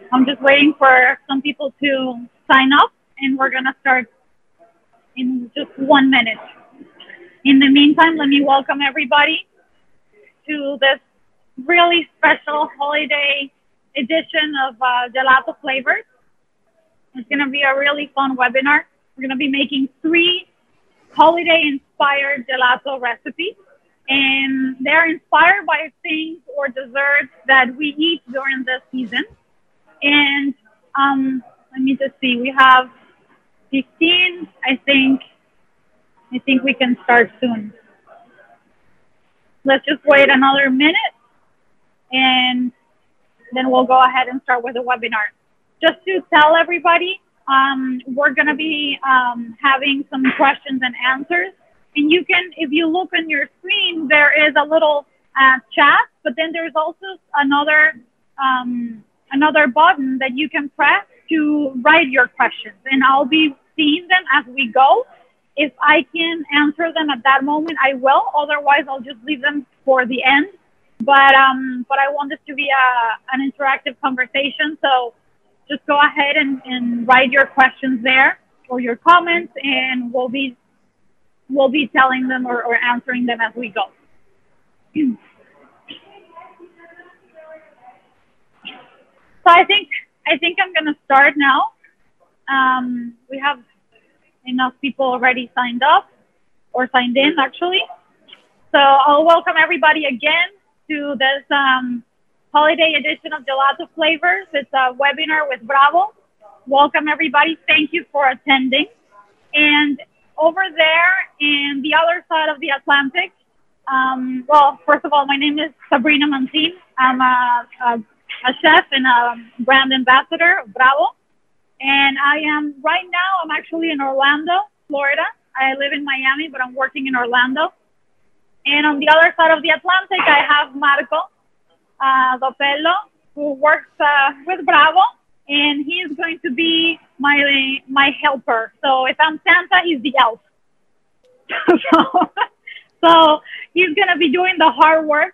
I'm just waiting for some people to sign up, and we're gonna start in just 1 minute. In the meantime, let me welcome everybody to this really special holiday edition of Gelato Flavors. It's going to be a really fun webinar. We're going to be making 3 holiday-inspired gelato recipes, and they're inspired by things or desserts that we eat during this season. And let me just see. We have 15. I think we can start soon. Let's just wait another minute, and then we'll go ahead and start with the webinar. Just to tell everybody, we're going to be having some questions and answers. And you can, if you look on your screen, there is a little chat, but then there's also another button that you can press to write your questions. And I'll be seeing them as we go. If I can answer them at that moment, I will. Otherwise, I'll just leave them for the end. But I want this to be an interactive conversation. So just go ahead and write your questions there or your comments, and we'll be telling them or answering them as we go. So I think I'm gonna start now. We have enough people already signed up or signed in actually. So I'll welcome everybody again to this holiday edition of Gelato Flavors. It's a webinar with Bravo. Welcome everybody. Thank you for attending. And over there in the other side of the Atlantic, well, first of all, my name is Sabrina Mancin. I'm a chef and a brand ambassador of Bravo. And I'm actually in Orlando, Florida. I live in Miami, but I'm working in Orlando. And on the other side of the Atlantic, I have Marco Dopello, who works with Bravo, and he is going to be my helper. So if I'm Santa, he's the elf. so he's going to be doing the hard work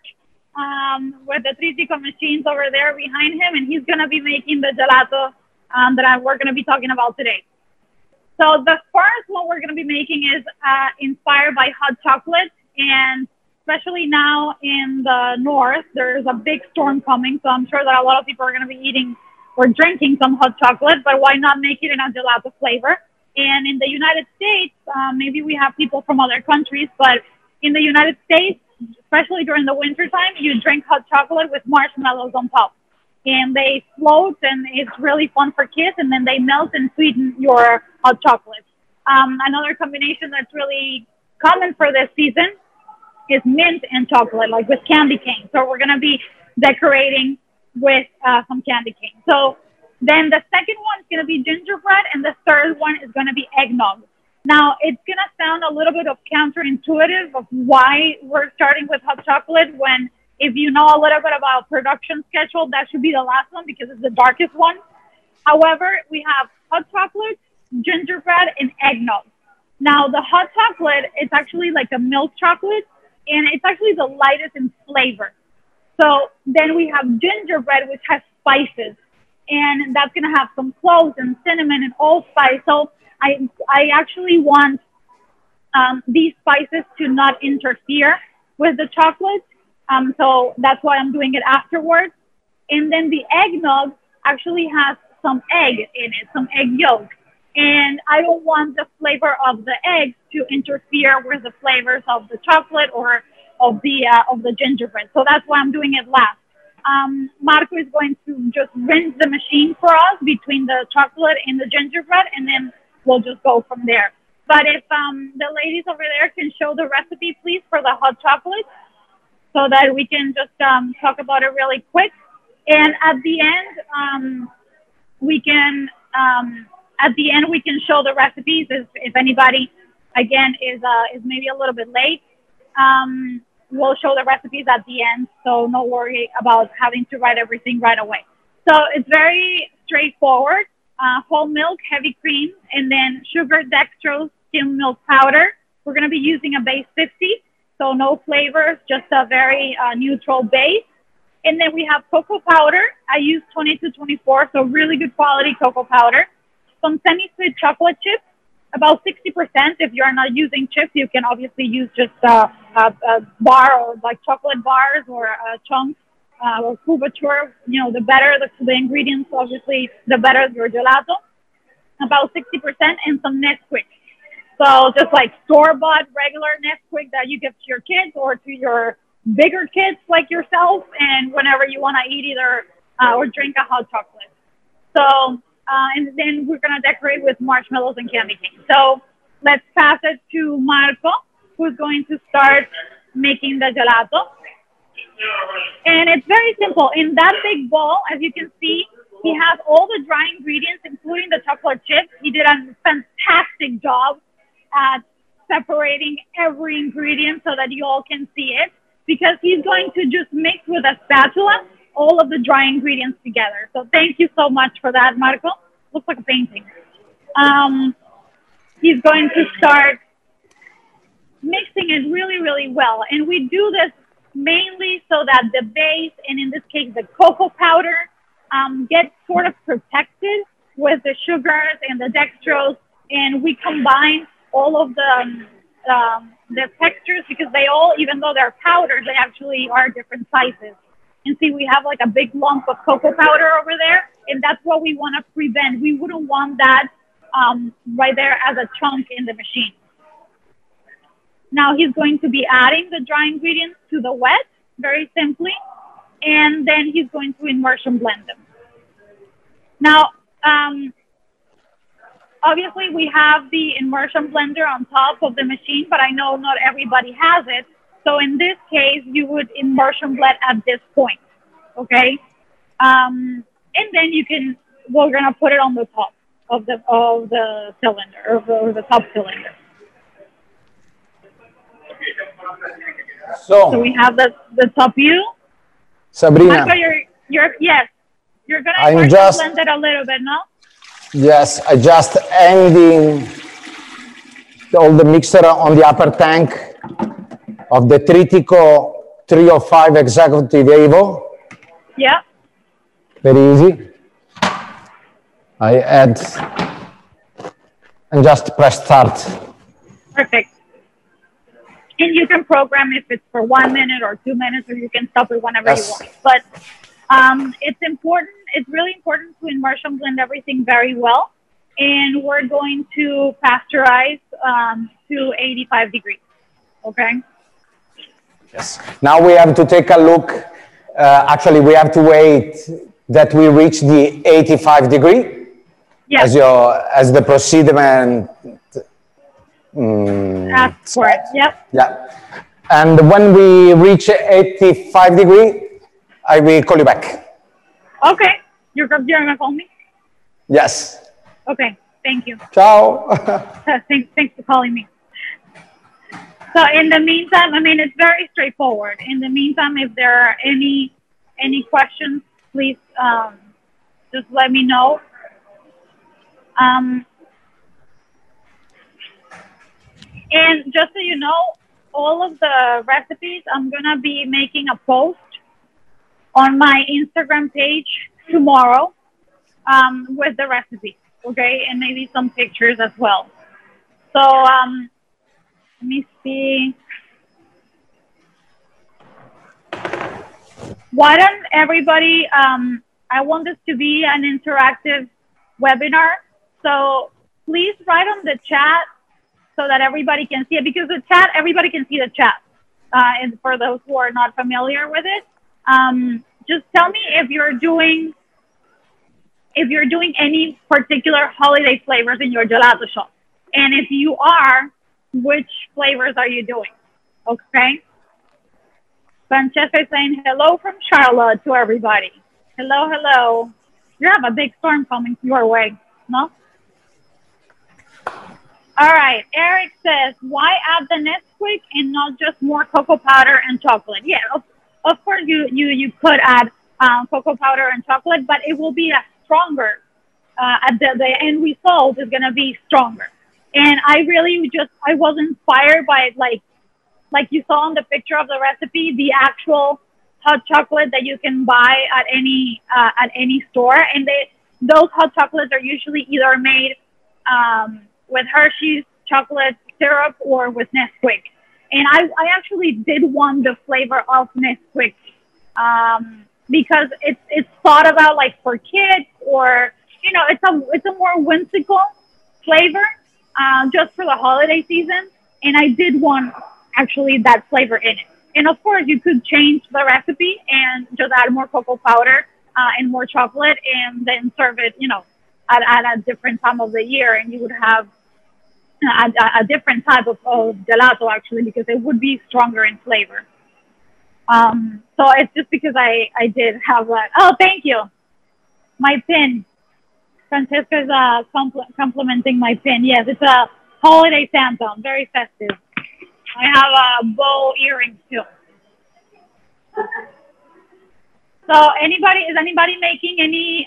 with the Tritico machines over there behind him, and he's going to be making the gelato that we're going to be talking about today. So the first one we're going to be making is inspired by hot chocolate, and especially now in the north, there's a big storm coming, so I'm sure that a lot of people are going to be eating or drinking some hot chocolate, but why not make it in a gelato flavor? And in the United States, maybe we have people from other countries, but in the United States, especially during the winter time, you drink hot chocolate with marshmallows on top. And they float, and it's really fun for kids, and then they melt and sweeten your hot chocolate. Another combination that's really common for this season is mint and chocolate, like with candy cane. So we're going to be decorating with some candy cane. So then the second one is going to be gingerbread, and the third one is going to be eggnog. Now, it's going to sound a little bit of counterintuitive of why we're starting with hot chocolate when, if you know a little bit about production schedule, that should be the last one because it's the darkest one. However, we have hot chocolate, gingerbread, and eggnog. Now, the hot chocolate, it's actually like a milk chocolate, and it's actually the lightest in flavor. So then we have gingerbread, which has spices, and that's going to have some cloves and cinnamon and allspice. So I actually want these spices to not interfere with the chocolate. So that's why I'm doing it afterwards. And then the eggnog actually has some egg in it, some egg yolk. And I don't want the flavor of the eggs to interfere with the flavors of the chocolate or of the gingerbread. So that's why I'm doing it last. Marco is going to just rinse the machine for us between the chocolate and the gingerbread, and then we'll just go from there. But if the ladies over there can show the recipe, please, for the hot chocolate, so that we can just talk about it really quick. And at the end, we can show the recipes if anybody, again, is maybe a little bit late. We'll show the recipes at the end, so no worry about having to write everything right away. So it's very straightforward. Whole milk, heavy cream, and then sugar, dextrose, skim milk powder. We're going to be using a base 50, so no flavors, just a very neutral base. And then we have cocoa powder. I use 20 to 24, so really good quality cocoa powder. Some semi-sweet chocolate chips, about 60%. If you're not using chips, you can obviously use just a bar or like chocolate bars or chunks or couverture. You know, the better the ingredients, obviously, the better your gelato. About 60%, and some Nesquik. So just like store-bought regular Nesquik that you give to your kids or to your bigger kids like yourself, and whenever you want to eat either or drink a hot chocolate. So, and then we're going to decorate with marshmallows and candy cane. So let's pass it to Marco, who's going to start making the gelato. And it's very simple. In that big bowl, as you can see, he has all the dry ingredients, including the chocolate chips. He did a fantastic job at separating every ingredient so that you all can see it, because he's going to just mix with a spatula all of the dry ingredients together. So thank you so much for that, Marco. Looks like a painting. He's going to start mixing it really, really well. And we do this mainly so that the base, and in this case, the cocoa powder, gets sort of protected with the sugars and the dextrose. And we combine all of the textures, because they all, even though they're powders, they actually are different sizes. And see, we have like a big lump of cocoa powder over there, and that's what we want to prevent. We wouldn't want that right there as a chunk in the machine. Now he's going to be adding the dry ingredients to the wet, very simply, and then he's going to immersion blend them. Now, obviously, we have the immersion blender on top of the machine, but I know not everybody has it. So in this case, you would immersion blend at this point, okay? And then we're gonna put it on the top of the cylinder, or the top cylinder. So we have the top view. Sabrina, Marco, yes, you're gonna immersion blend it a little bit, no? Yes, I just ending all the mixture on the upper tank of the Tritico 305 Executive Evo. Yeah. Very easy. I add and just press start. Perfect. And you can program if it's for 1 minute or 2 minutes, or you can stop it whenever you want. But it's important. It's really important to immersion blend everything very well. And we're going to pasteurize to 85 degrees. Okay? Yes. Now we have to take a look. Actually, we have to wait that we reach the 85 degree. Yes. As the procedure. Ask for it. Yep. Yeah. And when we reach 85 degree, I will call you back. Okay. You're gonna call me? Yes. Okay. Thank you. Ciao. Thanks for calling me. So in the meantime, I mean, it's very straightforward. In the meantime, if there are any questions, please just let me know. And just so you know, all of the recipes, I'm going to be making a post on my Instagram page tomorrow with the recipes, okay? And maybe some pictures as well. So let me see. Why don't everybody, I want this to be an interactive webinar. So please write on the chat so that everybody can see it, because the chat, everybody can see the chat. And for those who are not familiar with it, just tell me if you're doing any particular holiday flavors in your gelato shop. And if you are, which flavors are you doing? Okay. Francesca is saying hello from Charlotte to everybody. Hello, hello. You have a big storm coming your way, no? All right. Eric says, why add the Nesquik and not just more cocoa powder and chocolate? Yeah, of course you could add cocoa powder and chocolate, but it will be a stronger. At the end result is going to be stronger. And I was inspired by like you saw in the picture of the recipe, the actual hot chocolate that you can buy at any store, and those hot chocolates are usually either made with Hershey's chocolate syrup or with Nesquik. And I actually did want the flavor of Nesquik because it's thought about like for kids, or it's a more whimsical flavor just for the holiday season. And I did want actually that flavor in it. And of course, you could change the recipe and just add more cocoa powder and more chocolate, and then serve it, at a different time of the year, and you would have a different type of gelato actually, because it would be stronger in flavor. So it's just because I did have that. Oh, thank you. My pin. Francesca's complimenting my pin. Yes, it's a holiday Santa. Very festive. I have a bow earrings too. So is anybody making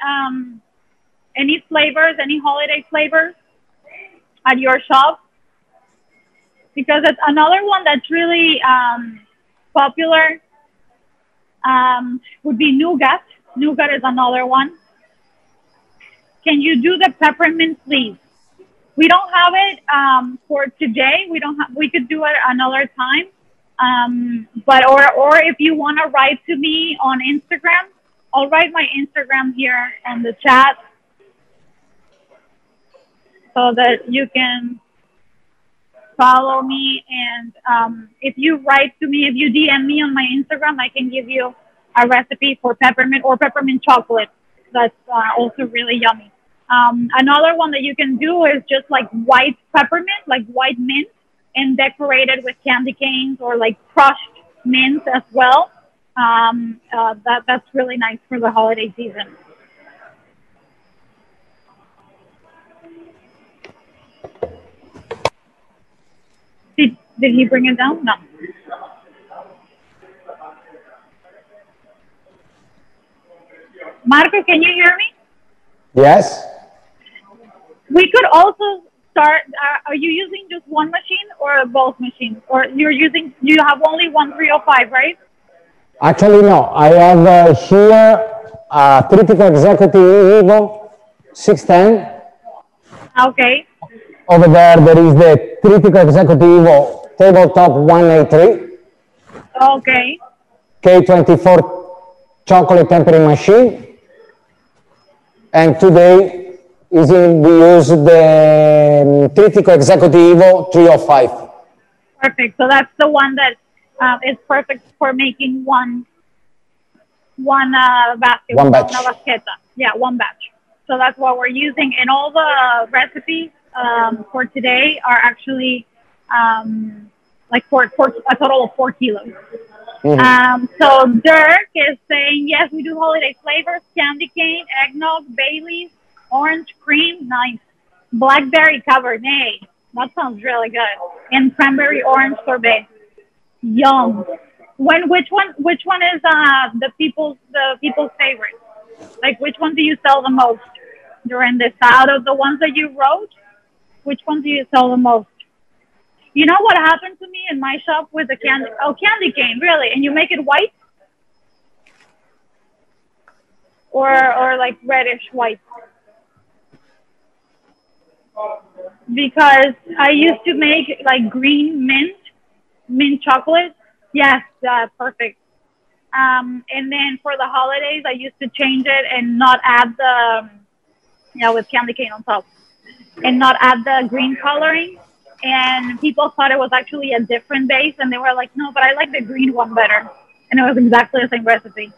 any flavors, any holiday flavors at your shop? Because it's another one that's really popular. Would be nougat. Nougat is another one. Can you do the peppermint, please? We don't have it for today. We could do it another time. But if you want to write to me on Instagram, I'll write my Instagram here on the chat so that you can follow me. And if you write to me, if you DM me on my Instagram, I can give you a recipe for peppermint or peppermint chocolate. That's also really yummy. Another one that you can do is just like white peppermint, like white mint, and decorate it with candy canes or like crushed mint as well. That's really nice for the holiday season. Did he bring it down? No. Marco, can you hear me? Yes. We could also start. Are you using just one machine or both machines? Or you have only one 305, right? Actually, no. I have here a Tritico Executive Evo 610. Okay. Over there is the Tritico Executive Evo Tabletop 183. Okay. K24 chocolate tempering machine. And today we use the Tritico Executive Evo 305. Perfect. So that's the one that is perfect for making one basket. One batch. Una basqueta. Yeah, one batch. So that's what we're using. And all the recipes for today are actually like for a total of 4 kilos. Mm-hmm. So Dirk is saying, yes, we do holiday flavors: candy cane, eggnog, Baileys, orange cream, nice, blackberry cabernet. That sounds really good. And cranberry orange sorbet. Yum. Which one is the people's favorite? Like, which one do you sell the most during this? Out of the ones that you wrote, which one do you sell the most? You know what happened to me in my shop with the candy cane, really? And you make it white? Or like reddish white? Because I used to make like green mint chocolate. Yes, perfect. And then for the holidays, I used to change it and not add with candy cane on top, and not add the green coloring. And people thought it was actually a different base, and they were like, no, but I like the green one better. And it was exactly the same recipe.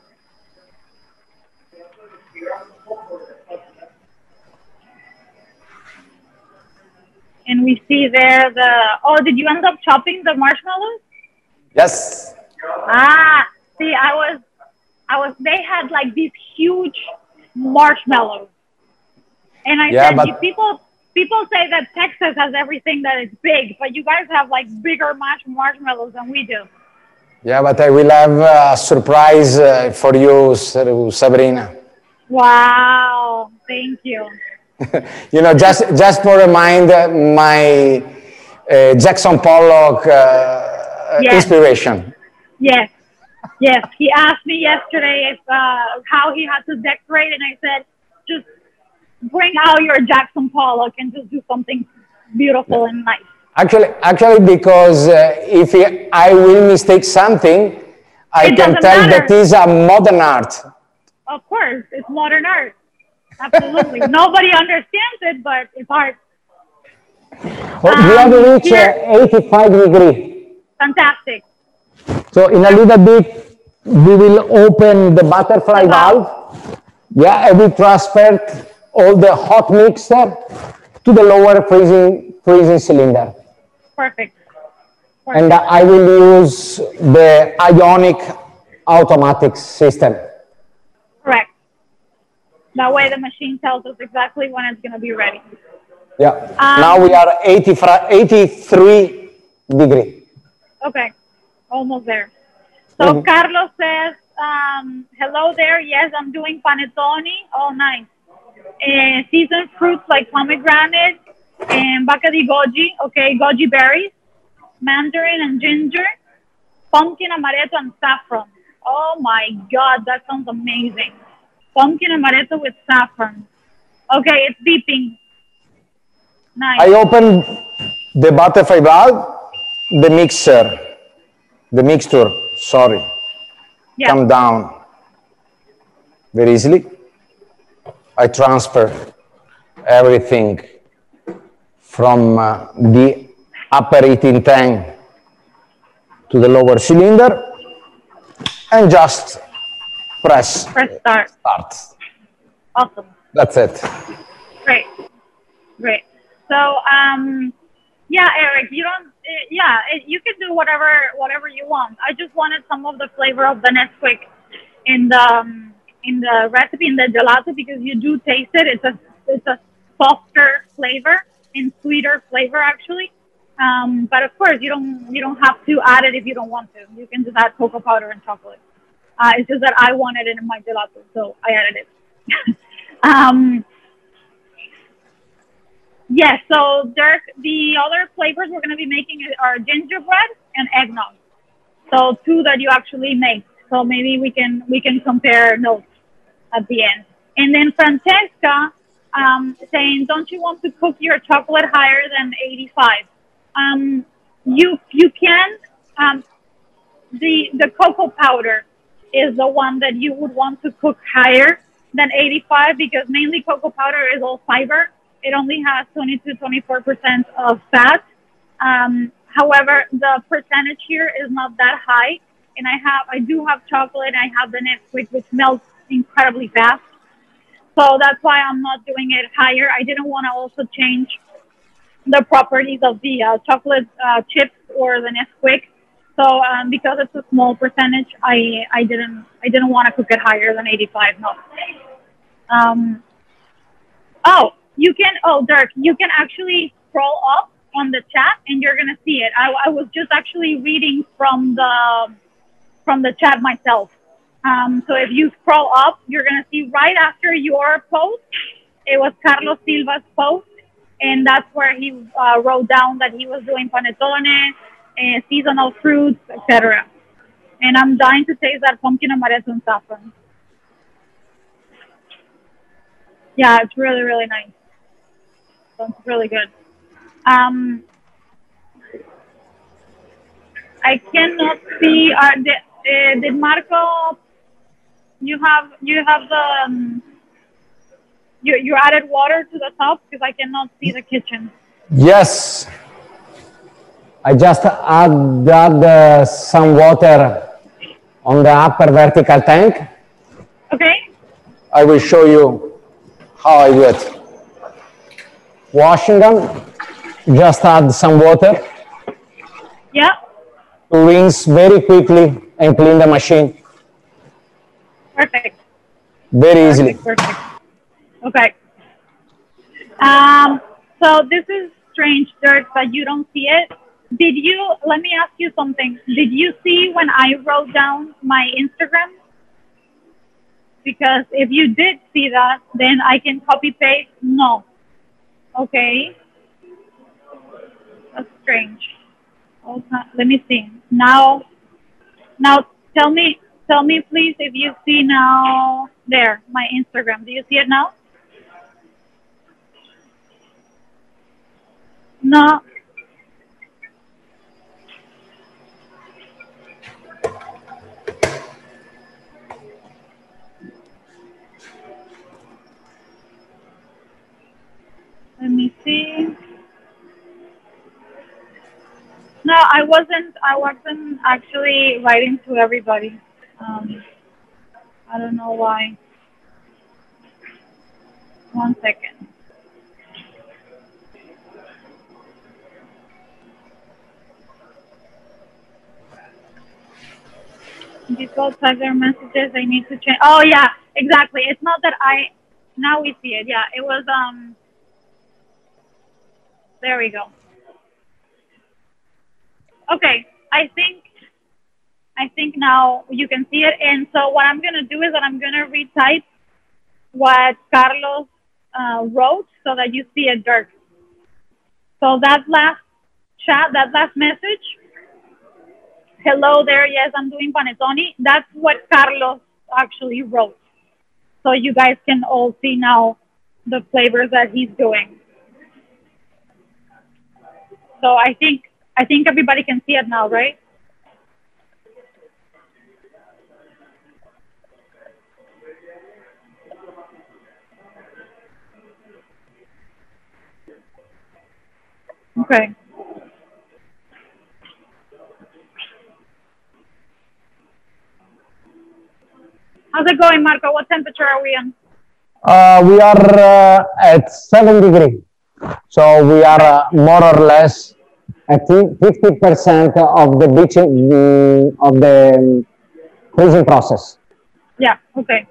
And we see there did you end up chopping the marshmallows? Yes. See, they had like these huge marshmallows. And I said, people say that Texas has everything that is big, but you guys have like bigger marshmallows than we do. Yeah, but I will have a surprise for you, Sabrina. Wow, thank you. just for remind my Jackson Pollock yes. inspiration. Yes. Yes, he asked me yesterday if how he had to decorate, and I said, just bring out your Jackson Pollock and just do something beautiful and nice. Actually, because if I will mistake something, I can tell that is a modern art. Of course, it's modern art. Absolutely. Nobody understands it, but it's art. We have reached 85 degrees. Fantastic. So in a little bit, we will open the butterfly valve. Yeah, and we transfer all the hot mixer to the lower freezing cylinder. Perfect. And I will use the ionic automatic system. Correct. That way the machine tells us exactly when it's going to be ready. Yeah. Now we are 83 degrees. Okay. Almost there. So Carlos says, hello there. Yes, I'm doing panettone. Oh, nice. Seasoned fruits like pomegranate and bacca di goji. Okay, goji berries, mandarin and ginger, pumpkin amaretto and saffron. Oh my God, that sounds amazing. Pumpkin amaretto with saffron. Okay, it's beeping. Nice. I open the butterfly valve, the mixture, sorry, come down very easily. I transfer everything from the upper heating tank to the lower cylinder and just press start. Awesome. That's it. Great. So, yeah, Eric, you don't, you can do whatever you want. I just wanted some of the flavor of the Nesquik in the recipe, in the gelato, because you do taste it. It's a softer flavor and sweeter flavor, actually. But of course, you don't have to add it if you don't want to. You can just add cocoa powder and chocolate. It's just that I wanted it in my gelato, so I added it. Yes, so Dirk, the other flavors we're going to be making are gingerbread and eggnog. So two that you actually make. So maybe we can compare notes at the end. And then Francesca saying, don't you want to cook your chocolate higher than 85? You can. The cocoa powder is the one that you would want to cook higher than 85 because mainly cocoa powder is all fiber. It only has 20-24% of fat. However, the percentage here is not that high. And I do have chocolate. I have the Nesquik, which melts incredibly fast. So that's why I'm not doing it higher. I didn't want to also change the properties of the chocolate chips or the Nesquik. So because it's a small percentage, I didn't want to cook it higher than 85. No. Dirk, you can actually scroll up on the chat and you're gonna see it. I was just actually reading from the chat myself. So if you scroll up, you're gonna see right after your post, it was Carlos Silva's post, and that's where he wrote down that he was doing panettone, seasonal fruits, etc. And I'm dying to taste that pumpkin amaretto and saffron. Yeah, it's really, really nice. Sounds really good. I cannot see. Did Marco? You have the you added water to the top because I cannot see the kitchen. Yes, I just add some water on the upper vertical tank. Okay. I will show you how I do it. Washing them, just add some water. Yeah. Rinse very quickly and clean the machine. Perfect. Very easily. Perfect. Okay. So this is strange, Dirk, that you don't see it. Let me ask you something. Did you see when I wrote down my Instagram? Because if you did see that, then I can copy paste. No. Okay. That's strange. Okay. Let me see. Now tell me tell me please if you see now there, my Instagram. Do you see it now? No. Let me see. No, I wasn't actually writing to everybody. I don't know why. One second. People type their messages. I need to change. Oh yeah, exactly. It's not that I. Now we see it. Yeah, it was. There we go. Okay, I think now you can see it. And so what I'm gonna do is that I'm gonna retype what Carlos wrote so that you see it, Dirk. So that last chat, that last message. Hello there. Yes, I'm doing panettone. That's what Carlos actually wrote. So you guys can all see now the flavors that he's doing. So I think everybody can see it now, right? Okay. How's it going, Marco? What temperature are we in? We are at 7 degrees. So we are more or less at 50% of the bleaching of the freezing process. Yeah. Okay.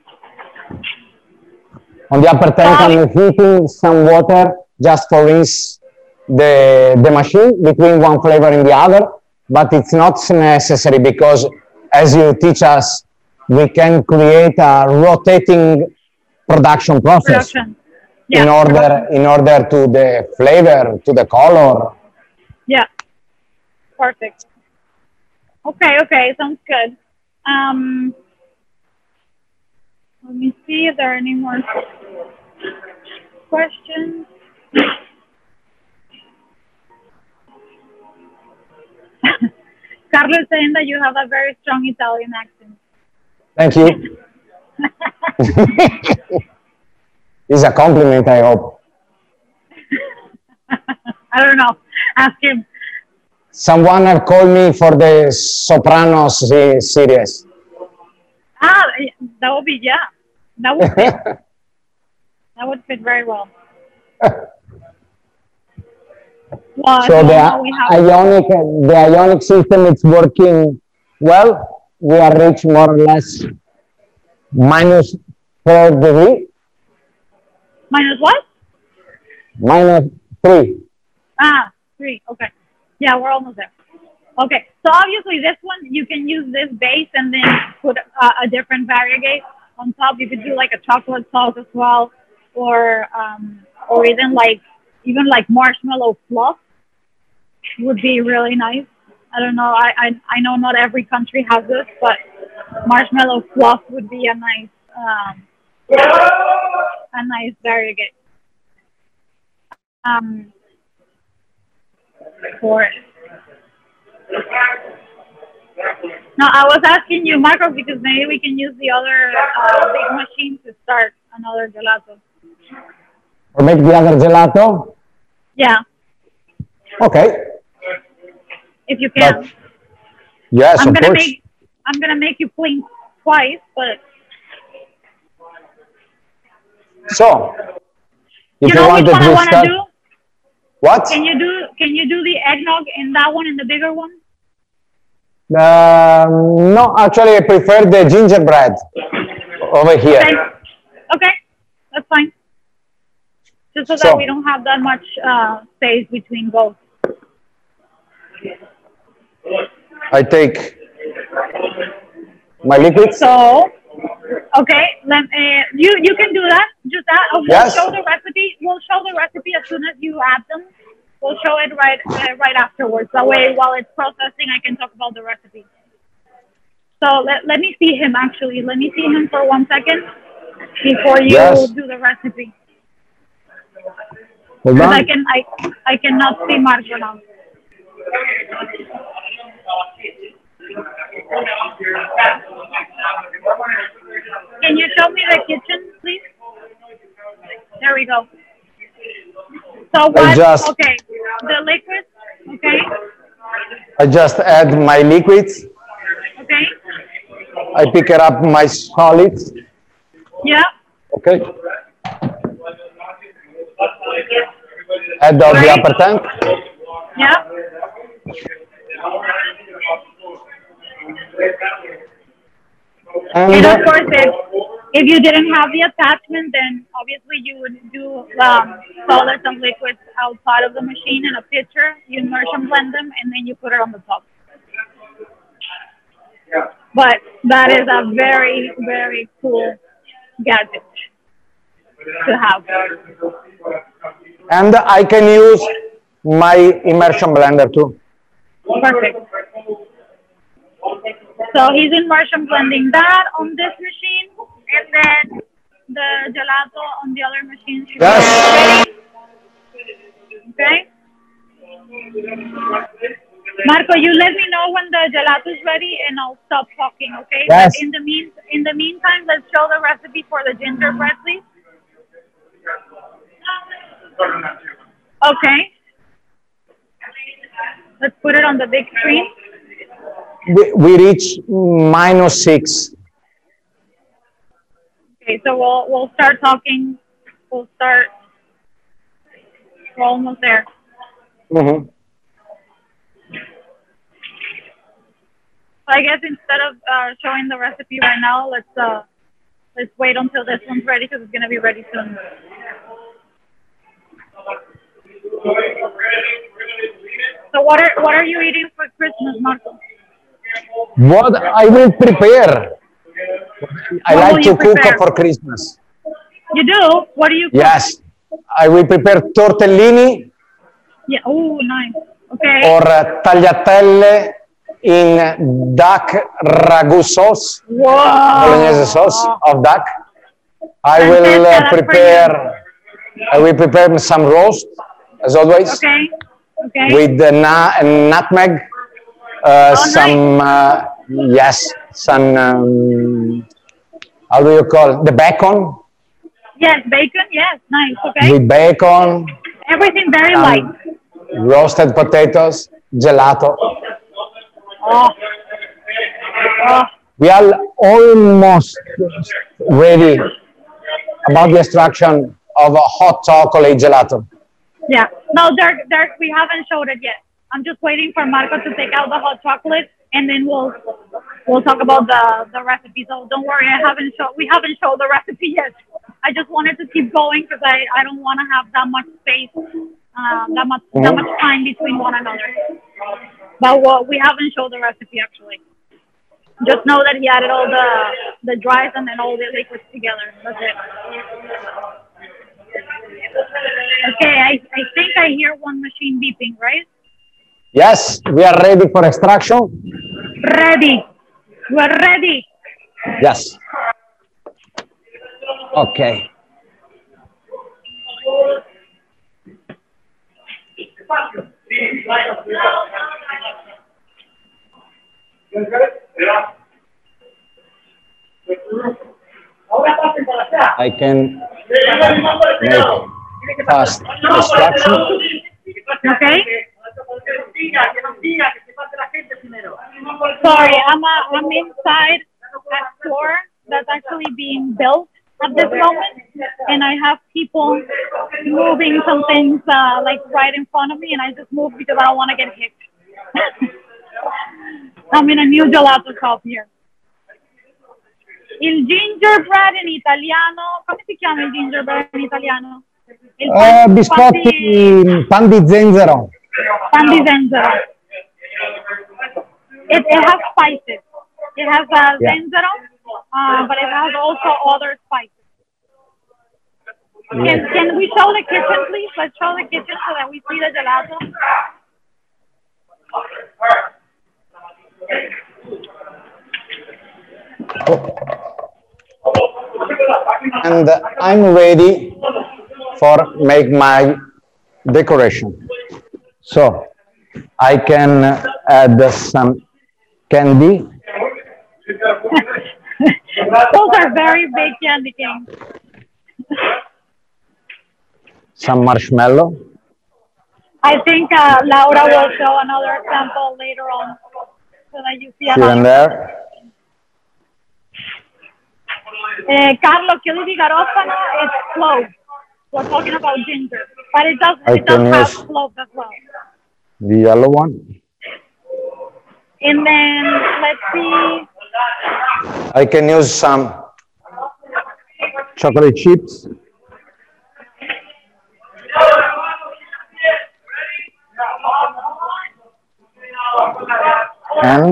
On the upper tank, I'm heating some water just to rinse the machine between one flavor and the other, but it's not necessary because, as you teach us, we can create a rotating production process Yeah. in order to the flavor, to the color. Yeah. Perfect. Okay. Sounds good. Let me see if there are any more questions. Carlos is saying that you have a very strong Italian accent. Thank you. It's a compliment, I hope. I don't know. Ask him. Someone have called me for the Sopranos series. That would be, yeah. That would fit. That would fit very well. Well, So the we have ionic system is working well. We are reached more or less minus 4 degrees, minus what? minus 3. 3. Okay. Yeah, we're almost there. Okay. So obviously this one, you can use this base and then put a different variegate on top. You could do like a chocolate sauce as well, or even like marshmallow fluff would be really nice. I don't know. I know not every country has this, but marshmallow fluff would be a nice variegate. For it. No, I was asking you, Marcos, because maybe we can use the other big machine to start another gelato. Or make the other gelato? Yeah, Okay. if you can. But, yes, I'm of gonna course. make you blink twice, but So, if you know which wanted one I to want to start, do? what? Can you do the eggnog in that one, in the bigger one? No, actually, I prefer the gingerbread over here. Okay, that's fine. Just so So- that we don't have that much space between both. I take my liquids. So, okay, you can do that. Just that. We'll Yes. show the recipe. We'll show the recipe as soon as you add them. We'll show it right afterwards. That way, while it's processing, I can talk about the recipe. So let me see him actually. Let me see him for 1 second before you Yes. do the recipe. Hold Because on. I cannot see Marco now. Can you show me the kitchen, please? There we go. So what? just- Okay, the liquid. Okay, I just add my liquids. okay, I pick it up my solids. yeah. Okay. Add all the Right. upper tank. Yeah. And of And course, if you didn't have the attachment, then obviously you would do solids and liquids outside of the machine in a pitcher. You immersion blend them, and then you put it on the top. But that is a very, very cool gadget to have. and I can use my immersion blender too. Perfect. So he's immersion blending that on this machine, and then the gelato on the other machine should Yes. be ready. Okay. Marco, you let me know when the gelato is ready, and I'll stop talking. Okay. Yes. But in the meantime, let's show the recipe for the gingerbread, please. Okay. Let's put it on the big screen. We reach -6. Okay, so we'll start talking. We'll start. We're almost there. Mhm. So I guess instead of showing the recipe right now, let's wait until this one's ready because it's gonna be ready soon. So what are you eating for Christmas, Marco? What I will prepare. I What will like you to cook prepare? for Christmas. You do? What do you cook? Yes. I will prepare tortellini Yeah. Oh, nice. Okay. or tagliatelle in duck ragu sauce, Whoa. bolognese sauce of duck. I will Francesca, that's for prepare. I will prepare some roast, as always, Okay. Okay. with the nutmeg. Some yes, some how do you call it? The bacon Yes, bacon. Yes, nice. Okay. with bacon, Everything very some light. roasted potatoes, gelato. Oh. Oh. We are almost ready about the extraction of a hot chocolate gelato. Yeah. No, Dirk, we haven't showed it yet. I'm just waiting for Marco to take out the hot chocolate, and then we'll talk about the recipe. So don't worry, we haven't showed the recipe yet. I just wanted to keep going because I don't want to have that much space, that much time between one another. But we haven't showed the recipe actually. Just know that he added all the dries and then all the liquids together. That's it. Okay, I think I hear one machine beeping, right? Yes, we are ready for extraction. Ready. We're ready. Yes. Okay. I can make fast extraction. Okay. Sorry, I'm inside a store that's actually being built at this moment, and I have people moving some things like right in front of me, and I just moved because I don't want to get hit. I'm in a new gelato shop here. Il gingerbread in italiano, come si chiama il gingerbread in italiano? Biscotti, pan di zenzero. Pan di zenzero. It has spices. It has zenzero, but it has also other spices. Can we show the kitchen, please? Let's show the kitchen so that we see the gelato. And I'm ready for make my decoration. So I can add some candy. Those are very big candy canes. Some marshmallow. I think Laura will show another example later on so that you see Here another. and there. Carlo, chili di garofano is cloves. We're talking about ginger, but it does I it does can have use cloves as well. the yellow one. And then let's see. I can use some chocolate chips. And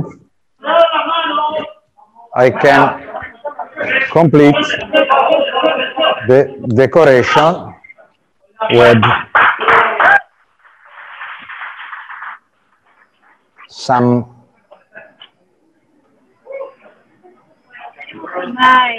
I can complete the decoration with some Nice.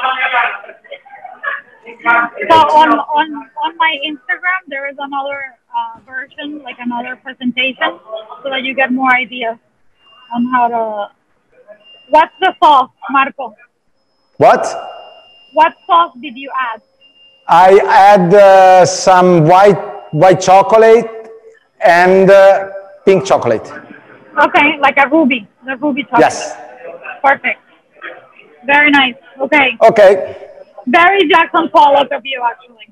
So on my Instagram there is another version, like another presentation, so that you get more ideas on how to. What's the sauce, Marco? what? What sauce did you add? I add some white chocolate and pink chocolate. Okay, like a ruby, the ruby chocolate. Yes. Perfect. Very nice. Okay. Okay. Very Jackson Pollock of you, actually.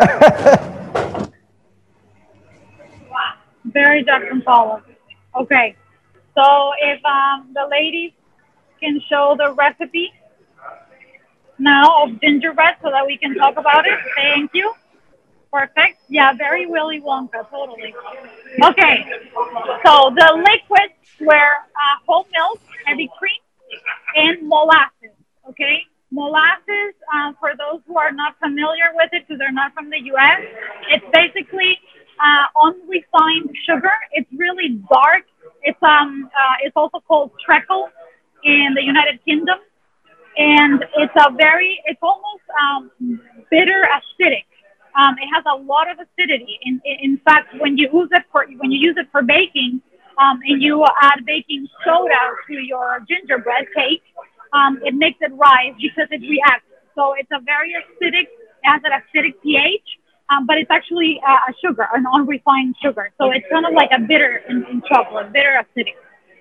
Very Jackson Pollock. Okay. So if the ladies can show the recipe now of gingerbread so that we can talk about it. Thank you. Perfect. Yeah, very Willy Wonka, totally. Okay. So the liquids were whole milk, heavy cream, and molasses. Okay. Molasses, for those who are not familiar with it because they're not from the U.S., it's basically unrefined sugar. It's really dark. It's also called treacle in the United Kingdom, and it's almost bitter acidic. It has a lot of acidity. In fact, when you use it for baking, and you add baking soda to your gingerbread cake, it makes it rise because it reacts. So it's a very acidic, it has an acidic pH, but it's actually a sugar, an unrefined sugar. So it's kind of like a bitter in chocolate, bitter acidic.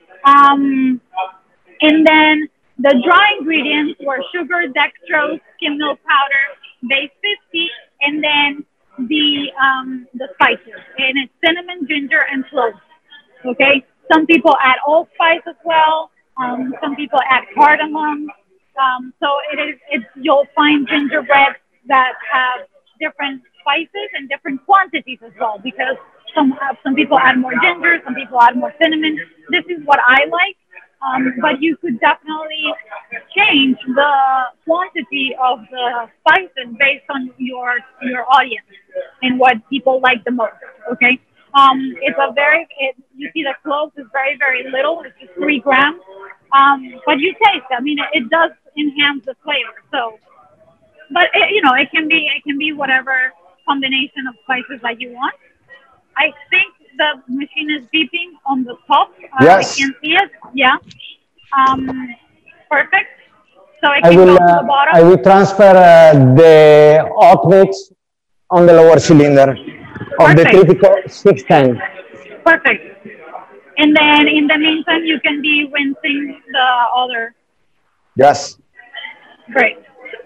And then the dry ingredients were sugar, dextrose, skim milk powder, base 50, and then the spices. And it's cinnamon, ginger, and cloves. Okay? Some people add allspice as well. Some people add cardamom. So you'll find gingerbread that have different spices and different quantities as well, because some people add more ginger, some people add more cinnamon. This is what I like. But you could definitely change the quantity of the spices based on your audience and what people like the most. Okay, you see the cloves is very, very little. It's just 3 grams. But you taste. I mean, it does enhance the flavor. So, but it can be whatever combination of spices that you want. I think the machine is beeping on the top. Yes. I can see it. Yeah. Perfect. So it can go to the bottom. I will transfer the hot mix on the lower cylinder of the Tritico 610. Perfect. And then in the meantime, you can be rinsing the other. Yes. Great.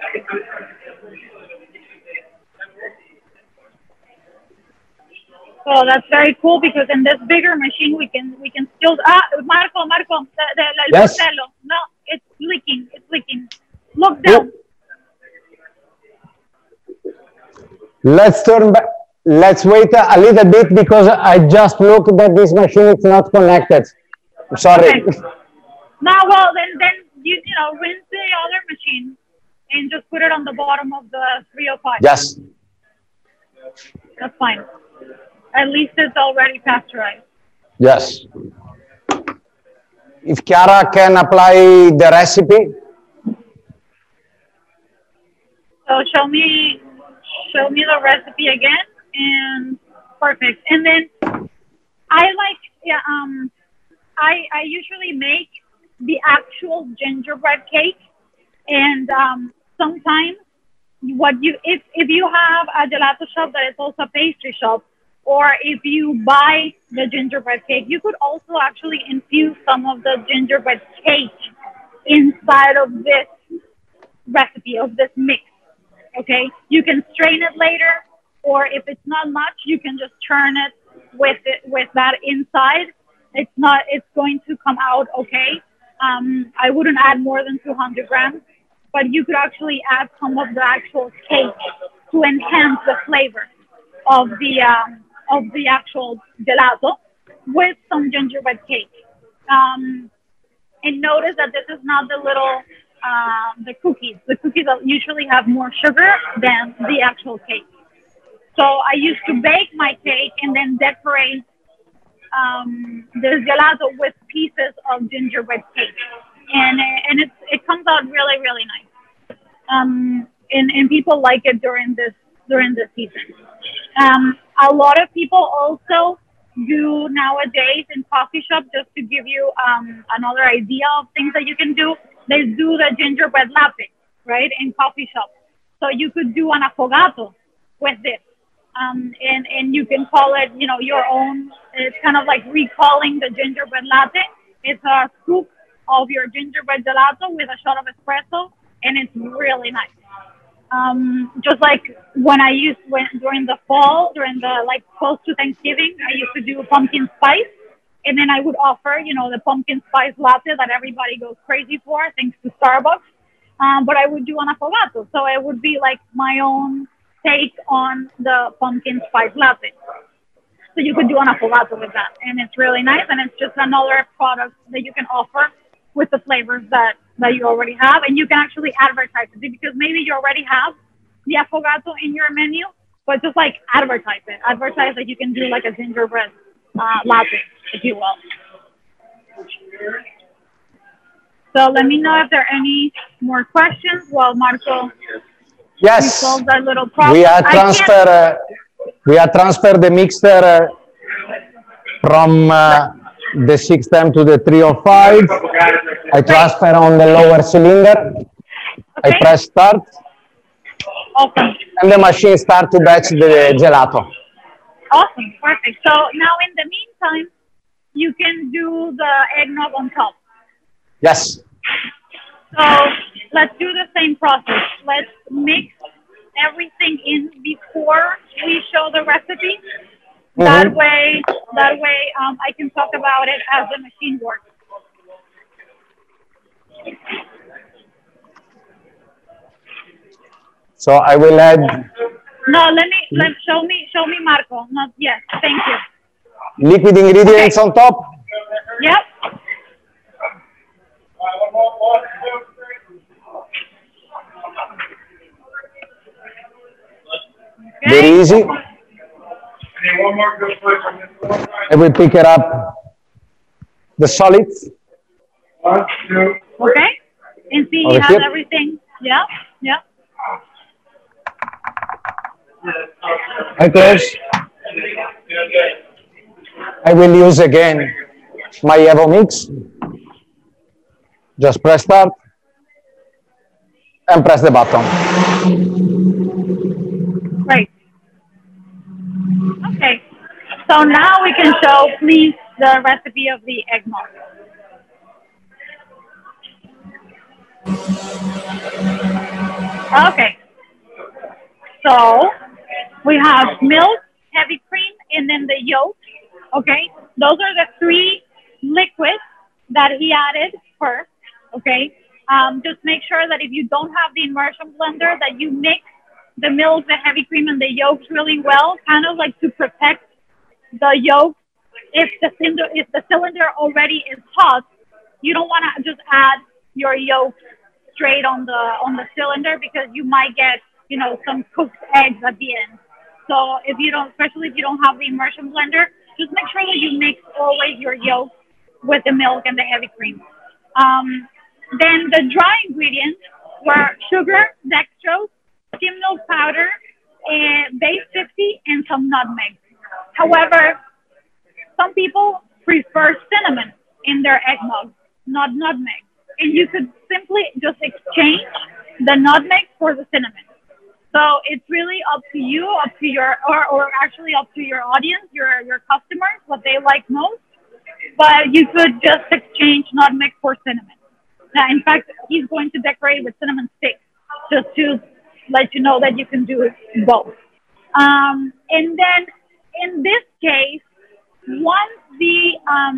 So that's very cool because in this bigger machine we can still Marco, yes. No, it's leaking. Look down. Let's turn back. Let's wait a little bit because I just looked that this machine is not connected. Sorry. Okay. No, well then you rinse the other machine and just put it on the bottom of the 305. Yes. That's fine. At least it's already pasteurized. Yes. If Chiara can apply the recipe. So show me the recipe again, and perfect. And then I like, yeah, I usually make the actual gingerbread cake, and sometimes if you have a gelato shop that is also a pastry shop, or if you buy the gingerbread cake, you could also actually infuse some of the gingerbread cake inside of this recipe, of this mix. Okay, you can strain it later, or if it's not much, you can just churn it with that inside. It's going to come out okay. I wouldn't add more than 200 grams, but you could actually add some of the actual cake to enhance the flavor of the actual gelato with some gingerbread cake. And notice that this is not the little the cookies. The cookies usually have more sugar than the actual cake. So I used to bake my cake and then decorate the gelato with pieces of gingerbread cake, and it comes out really nice. And people like it during this season. A lot of people also do nowadays in coffee shop, just to give you another idea of things that you can do. They do the gingerbread latte, right, in coffee shop. So you could do an affogato with this. And you can call it, your own. It's kind of like recalling the gingerbread latte. It's a scoop of your gingerbread gelato with a shot of espresso, and it's really nice. Just like when during the fall, during the close to Thanksgiving, I used to do pumpkin spice, and then I would offer, the pumpkin spice latte that everybody goes crazy for, thanks to Starbucks. But I would do an affogato, so it would be like my own take on the pumpkin spice latte. So you could do an affogato with that, and it's really nice, and it's just another product that you can offer with the flavors that you already have, and you can actually advertise it, because maybe you already have the affogato in your menu, but just advertise it. Advertise that you can do like a gingerbread latte, if you will. So let me know if there are any more questions while Marco Yes, resolves that little problem. we are transfer the mixer from the 6M to the 305. I transfer on the lower cylinder. Okay. I press start. Awesome. And the machine starts to batch the gelato. Awesome. Perfect. So now in the meantime, you can do the eggnog on top. Yes. So let's do the same process. Let's mix everything in before we show the recipe. Mm-hmm. That way, I can talk about it as the machine works. So I will add. No, show me Marco. Not yet. Thank you. Liquid ingredients on top. Yep. Okay. Very easy. I will pick it up the solids. 1, 2. Okay. And see, he has everything. Yeah. Yeah. I close. I will use again my Evo Mix. Just press start and press the button. Great. Okay. So now we can show, please, the recipe of the eggnog. Okay. So we have milk, heavy cream, and then the yolk. Okay. Those are the three liquids that he added first. Okay. Just make sure that if you don't have the immersion blender, that you mix the milk, the heavy cream, and the yolks really well, kind of like to protect the yolk. If the cylinder already is hot, you don't want to just add your yolk straight on the cylinder, because you might get, some cooked eggs at the end. So especially if you don't have the immersion blender, just make sure that you mix always your yolk with the milk and the heavy cream. Then the dry ingredients were sugar, dextrose, However, some people prefer cinnamon in their eggnog, not nutmeg. And you could simply just exchange the nutmeg for the cinnamon. So it's really up to you, up to your, or actually up to your audience, your customers, what they like most. But you could just exchange nutmeg for cinnamon. Now, in fact, he's going to decorate with cinnamon sticks just to let you know that you can do both. And then in this case, once the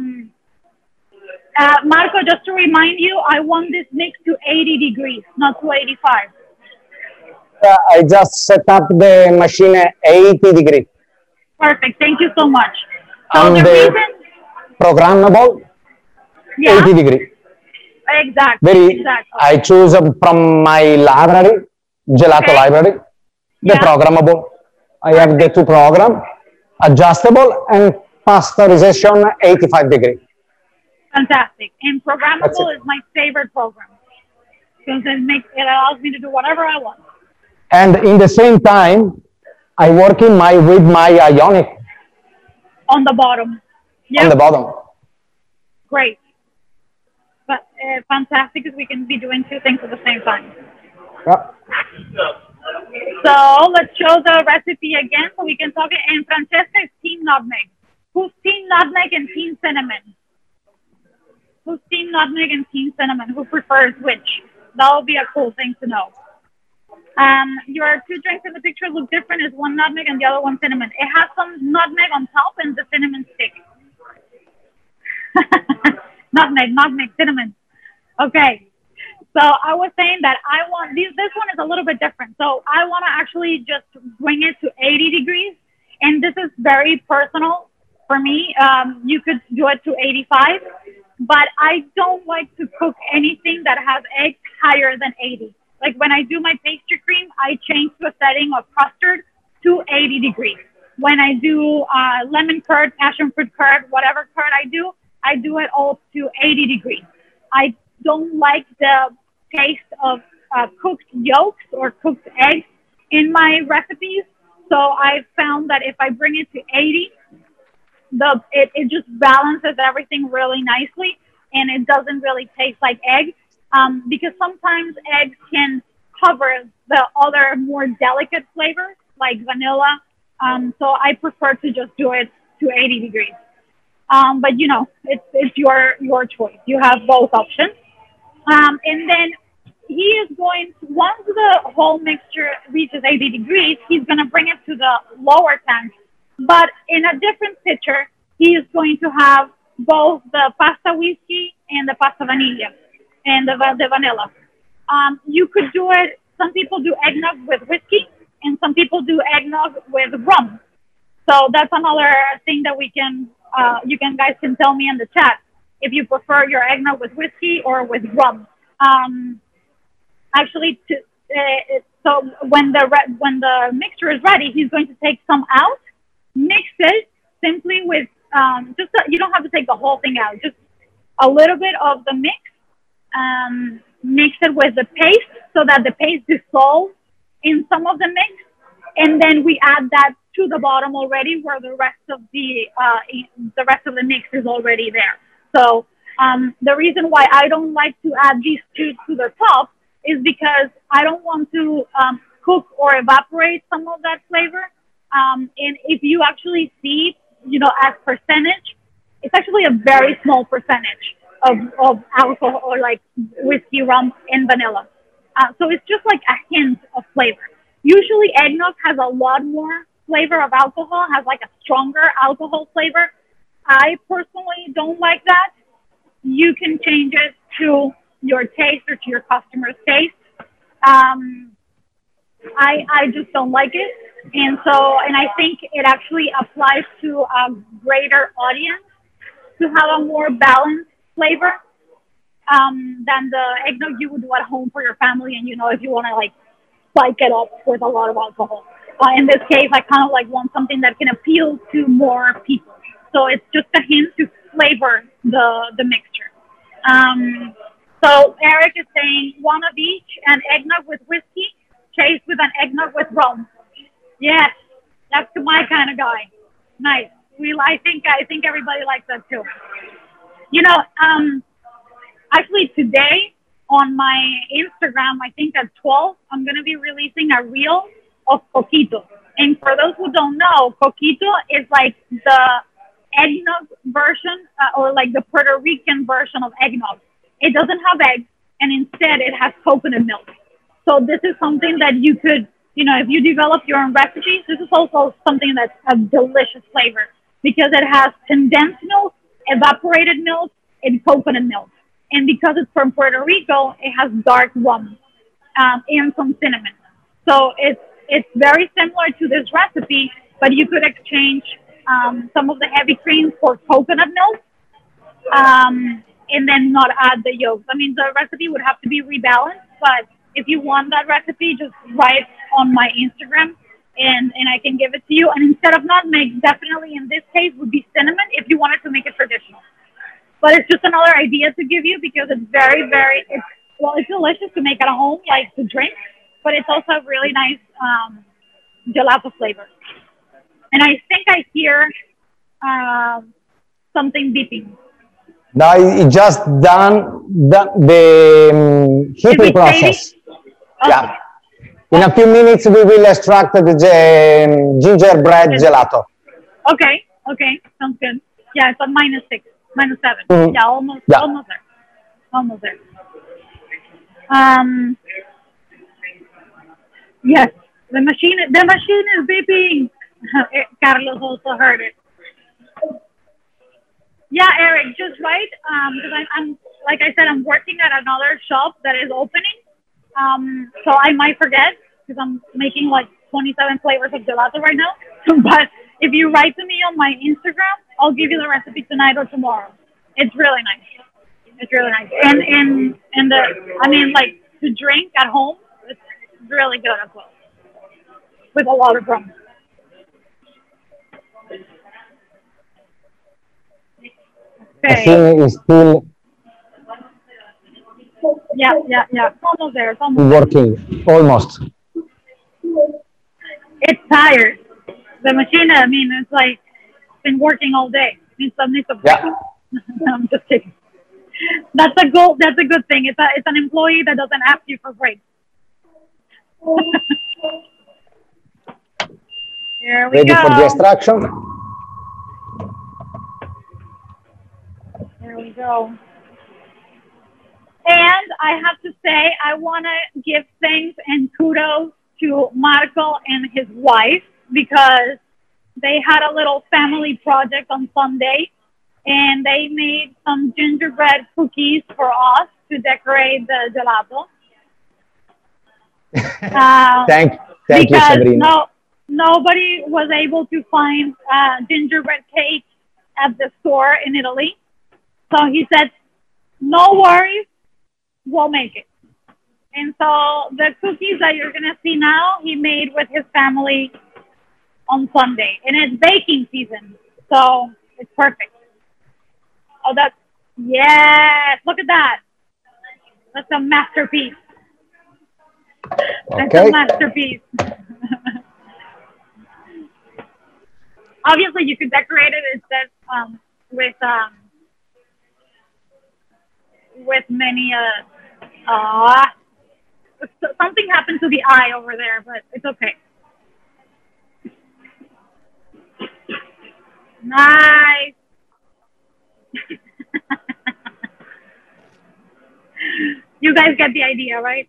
Marco, just to remind you, I want this mix to 80 degrees, not to 85. I just set up the machine at 80 degrees. Perfect. Thank you so much. So And the the reason, programmable, yeah, 80 degrees. exactly. Exactly. I choose from my library, gelato Okay. library, the Yeah. programmable. I have the two program, adjustable and pasteurization 85 degrees. Fantastic. And That's programmable it. is my favorite program because it allows me to do whatever I want. And in the same time, I work with my Ionic On the bottom. on Yeah, the bottom. great. But fantastic because we can be doing two things at the same time. Yeah. So let's show the recipe again so we can talk it. And Francesca is team nutmeg. Who's team nutmeg and team cinnamon? Who's team nutmeg and team cinnamon? Who prefers which? That would be a cool thing to know. Your two drinks in the picture look different. Is one nutmeg and the other one cinnamon. It has some nutmeg on top and the cinnamon stick. nutmeg, cinnamon. Okay. So I was saying that I want this one is a little bit different. So I want to actually just bring it to 80 degrees. And this is very personal for me. You could do it to 85, but I don't like to cook anything that has eggs higher than 80. Like when I do my pastry cream, I change to a setting of custard to 80 degrees. When I do lemon curd, passion fruit curd, whatever curd I do it all to 80 degrees. I don't like the taste of cooked yolks or cooked eggs in my recipes. So I found that if I bring it to 80, it just balances everything really nicely, and it doesn't really taste like egg. Because sometimes eggs can cover the other more delicate flavors like vanilla. So I prefer to just do it to 80 degrees. But you know, it's your choice. You have both options. And then he is going to, once the whole mixture reaches 80 degrees, he's going to bring it to the lower tank. But in a different pitcher, he is going to have both the pasta whiskey and the pasta vanilla and the vanilla. You could do it, some people do eggnog with whiskey, and some people do eggnog with rum. So that's another thing that we can, guys can tell me in the chat if you prefer your eggnog with whiskey or with rum. So when the mixture is ready, he's going to take some out, mix it simply with you don't have to take the whole thing out, just a little bit of the mix. Mix it with the paste so that the paste dissolves in some of the mix, and then we add that to the bottom already, where the rest of the mix is already there. So the reason why I don't like to add these two to the top is because I don't want to cook or evaporate some of that flavor. And if you actually see, as percentage, it's actually a very small percentage of alcohol or like whiskey, rum, and vanilla. So it's just like a hint of flavor. Usually eggnog has a lot more flavor of alcohol, has like a stronger alcohol flavor. I personally don't like that. You can change it to your taste or to your customer's taste. I just don't like it. And I think it actually applies to a greater audience to have a more balanced flavor than the eggnog you would do at home for your family. And, if you want to like spike it up with a lot of alcohol. In this case, I kind of like want something that can appeal to more people. So it's just a hint to flavor the mixture. So Eric is saying one of each, an eggnog with whiskey, chased with an eggnog with rum. Yes, that's my kind of guy. Nice. I think everybody likes that too. You know, actually today on my Instagram, I think at 12, I'm gonna be releasing a reel of coquito. And for those who don't know, coquito is like the eggnog version, or like the Puerto Rican version of eggnog. It doesn't have eggs, and instead it has coconut milk. So this is something that you could, you know, if you develop your own recipes, this is also something that's a delicious flavor because it has condensed milk, evaporated milk, and coconut milk. And because it's from Puerto Rico, it has dark rum, and some cinnamon. So it's very similar to this recipe, but you could exchange some of the heavy creams for coconut milk, and then not add the yolks. I mean, the recipe would have to be rebalanced, but if you want that recipe, just write on my Instagram, and I can give it to you. And instead of nutmeg, definitely in this case would be cinnamon if you wanted to make it traditional. But it's just another idea to give you because it's it's delicious to make at home, like to drink, but it's also a really nice gelato flavor. And I think I hear something beeping. Now it just done the heating process. Okay. Yeah. In a few minutes, we will extract the gingerbread gelato. Okay. Okay. Sounds good. Yeah, it's on -6, -7. Mhm. Yeah, Yeah. almost there. Almost there. Yes, the machine is beeping. Carlos also heard it. Yeah, Eric, just right. Because I'm like I said, I'm working at another shop that is opening. So I might forget because I'm making like 27 flavors of gelato right now. But if you write to me on my Instagram, I'll give you the recipe tonight or tomorrow. It's really nice. It's really nice. And I mean, like to drink at home, it's really good as well. With a lot of rum. Okay. Machine is still Yeah. Almost there. It's almost there. working, almost. It's tired. The machine, I mean, it's like been working all day. Needs a break. Yeah. I'm just kidding. That's a good. That's a good thing. It's an employee that doesn't ask you for breaks. Here we Ready go. for the extraction? There we go. And I have to say, I want to give thanks and kudos to Marco and his wife because they had a little family project on Sunday and they made some gingerbread cookies for us to decorate the gelato. Thank you, Because Sabrina. nobody was able to find gingerbread cake at the store in Italy. So he said, no worries, we'll make it. And so the cookies that you're going to see now, he made with his family on Sunday. And it's baking season, so it's perfect. Oh, yes, look at that. That's a masterpiece. That's Okay. a masterpiece. Obviously, you could decorate it instead with many something happened to the eye over there, but it's okay. Nice. You guys get the idea, right?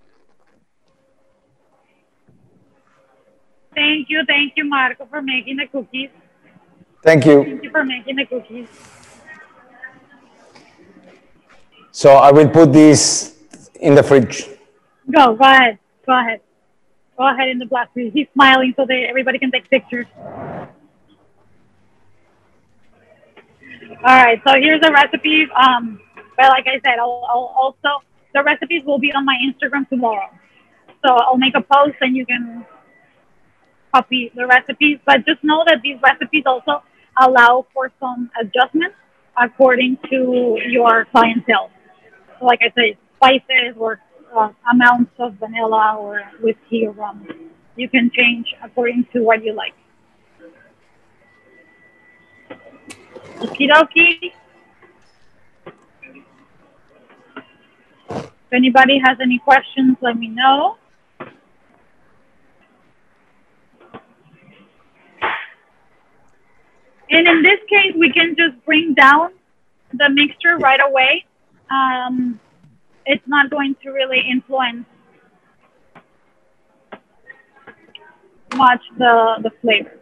Thank you, Marco, for making the cookies. Thank you. Thank you for making the cookies. So I will put this in the fridge. Go ahead. Go ahead. Go ahead in the black room. He's smiling so that everybody can take pictures. All right, so here's the recipes. But like I said, I'll also, the recipes will be on my Instagram tomorrow. So I'll make a post and you can copy the recipes. But just know that these recipes also allow for some adjustments according to your clientele. So like I said, spices or amounts of vanilla or whiskey or rum. You can change according to what you like. Okie dokie. If anybody has any questions, let me know. And in this case, we can just bring down the mixture right away. It's not going to really influence much the flavor.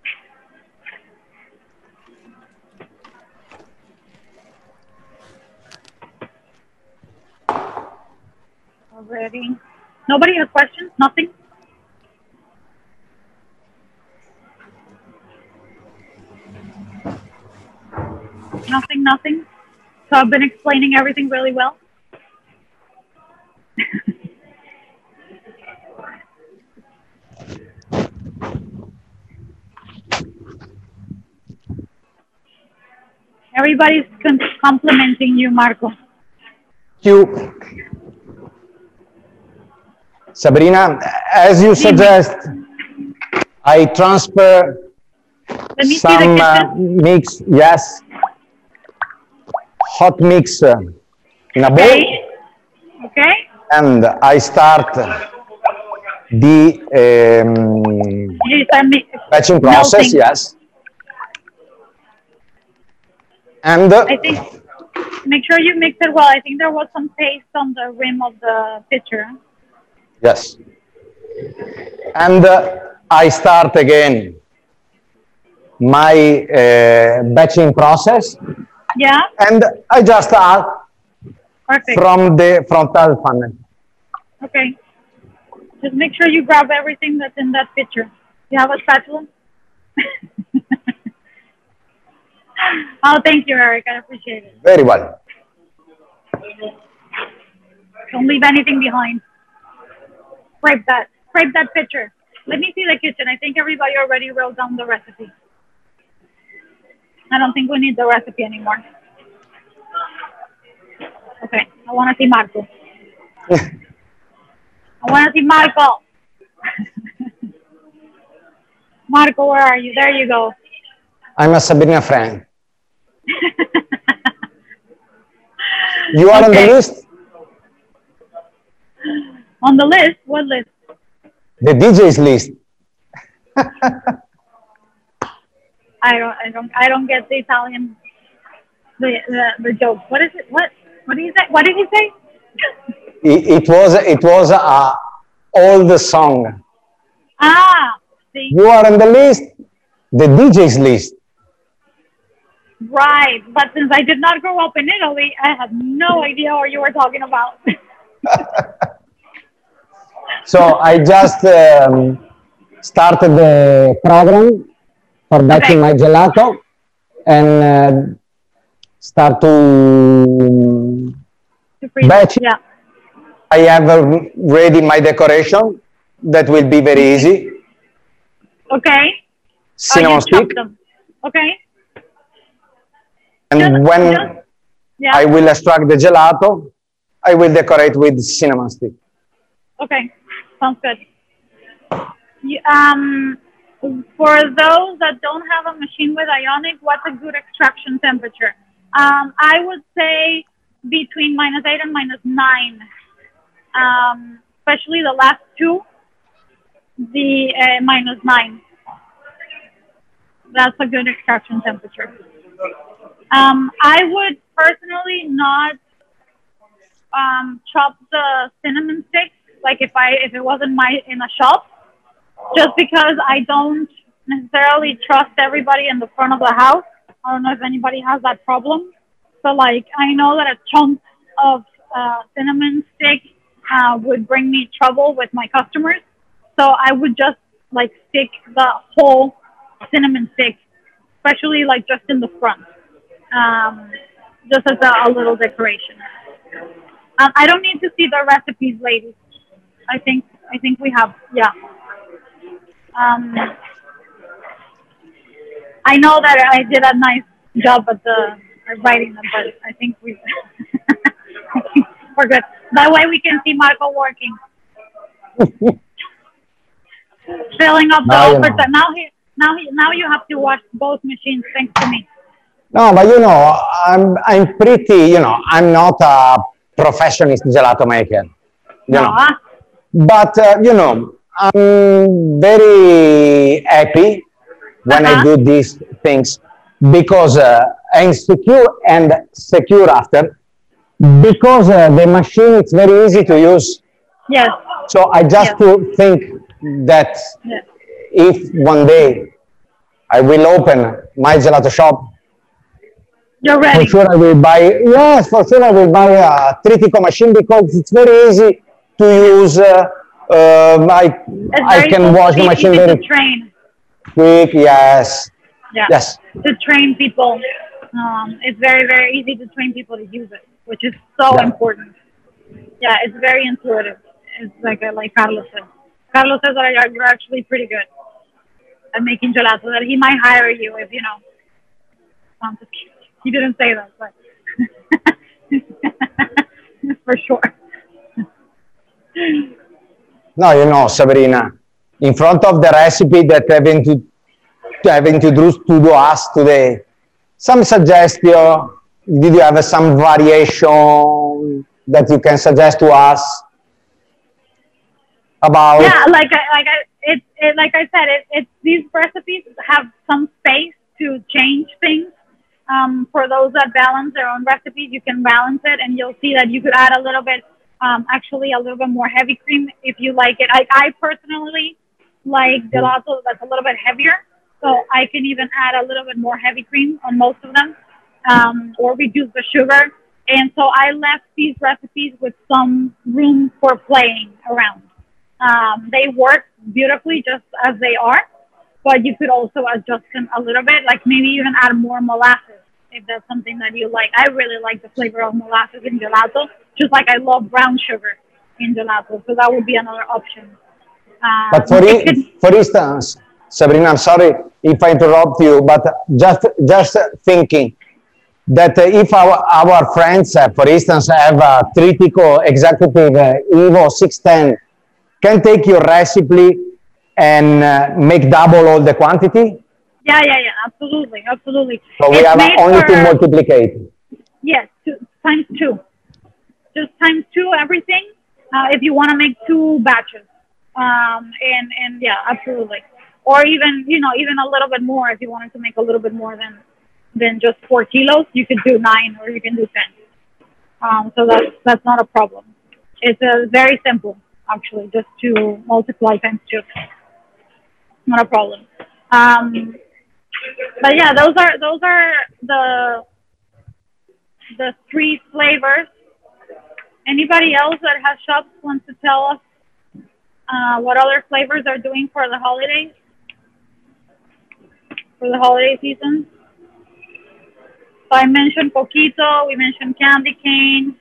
Already. Nobody has questions? Nothing? Nothing. So I've been explaining everything really well. Everybody's complimenting you, Marco. Thank you. Sabrina, as you suggest, I transfer Let me see some the kitchen. mix, yes, hot mix in a bowl, Okay. Okay. and I start the You start batching process, melting. yes. And I think, make sure you mix it well. I think there was some paste on the rim of the pitcher. yes, and I start again my batching process, Yeah. and I just add Perfect. from the frontal funnel. Okay. Just make sure you grab everything that's in that pitcher. You have a spatula? Oh, thank you, Eric. I appreciate it. Very well. Don't leave anything behind. Scrape that pitcher. Let me see the kitchen. I think everybody already wrote down the recipe. I don't think we need the recipe anymore. Okay, I want to see Marco. I want to see Marco. Marco, where are you? There you go. I'm a Sabrina friend. You are on the list? On the list? What list? The DJ's list. I don't get the Italian the joke. What is it? What did he say? What did he say? It was a old song. Ah, see, You are on the list, the DJ's list. right. But since I did not grow up in Italy, I have no idea what you were talking about. So I just started the program for batching my gelato and start to freeze. batch. Yeah. I have ready my decoration. That will be very easy. Okay. Cinnamon stick. Them. Okay. And when yeah. I will extract the gelato, I will decorate with cinnamon stick. Okay. Sounds good. For those that don't have a machine with Ionic, what's a good extraction temperature? I would say between -8 and -9. Especially the last two, the -9. That's a good extraction temperature. I would personally not chop the cinnamon sticks like if it wasn't in a shop, just because I don't necessarily trust everybody in the front of the house. I don't know if anybody has that problem. So like I know that a chunk of cinnamon stick would bring me trouble with my customers. So I would just like stick the whole cinnamon stick, especially like just in the front, just as a little decoration. I don't need to see the recipes, ladies. I think we have, yeah. I know that I did a nice job at writing them, but I think we're good. That way we can see Marco working. Filling up the offer. Now you have to watch both machines thanks to me. No, but you know, I'm pretty, you know, I'm not a professionist gelato maker, you know. No. But, you know, I'm very happy when I do these things because I'm secure and secure after because the machine is very easy to use. Yes. So I just Yes. to think that Yes. if one day I will open my gelato shop, You're for ready. sure I will buy, yes, for sure I will buy a Tritico machine because it's very easy to use. It's I very can wash the easy machine to very train. quick, yes. Yeah. Yes. To train people. It's very, very easy to train people to use it, which is so Yeah. important. Yeah, it's very intuitive. It's like Carlos said. Carlos says that you're actually pretty good at making gelato. That he might hire you if you know. I'm just kidding. He didn't say that, but for sure. No, you know, Sabrina, in front of the recipe that have introduced to us today, some suggestion, did you have some variation that you can suggest to us about? Yeah, like I said, it's these recipes have some space to change things. For those that balance their own recipes, you can balance it, and you'll see that you could add a little bit, actually a little bit more heavy cream if you like it. I personally like gelato that's a little bit heavier, so I can even add a little bit more heavy cream on most of them, or reduce the sugar. And so I left these recipes with some room for playing around. They work beautifully just as they are, but you could also adjust them a little bit, like maybe even add more molasses if that's something that you like. I really like the flavor of molasses in gelato, just like I love brown sugar in gelato, so that would be another option. But It for instance, Sabrina, I'm sorry if I interrupt you, but just thinking that if our friends, for instance, have a Tritico Executive Evo 610, can take your recipe and make double all the quantity? yeah, absolutely, absolutely. So we It's have made only to for, multiplicate. yes, times two. Just times two everything if you want to make two batches. And yeah, absolutely. Or even, even a little bit more if you wanted to make a little bit more than just 4 kilos, you could do 9 or you can do 10. So that's not a problem. It's very simple, actually, just to multiply times two. Not a problem. But yeah, those are the 3 flavors. Anybody else that has shops wants to tell us what other flavors are doing for the holidays, for the holiday season? So I mentioned coquito, we mentioned candy cane.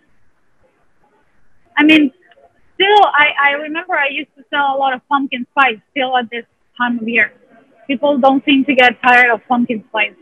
I mean, still, I remember I used to sell a lot of pumpkin spice still at this time of year. People don't seem to get tired of pumpkin spice.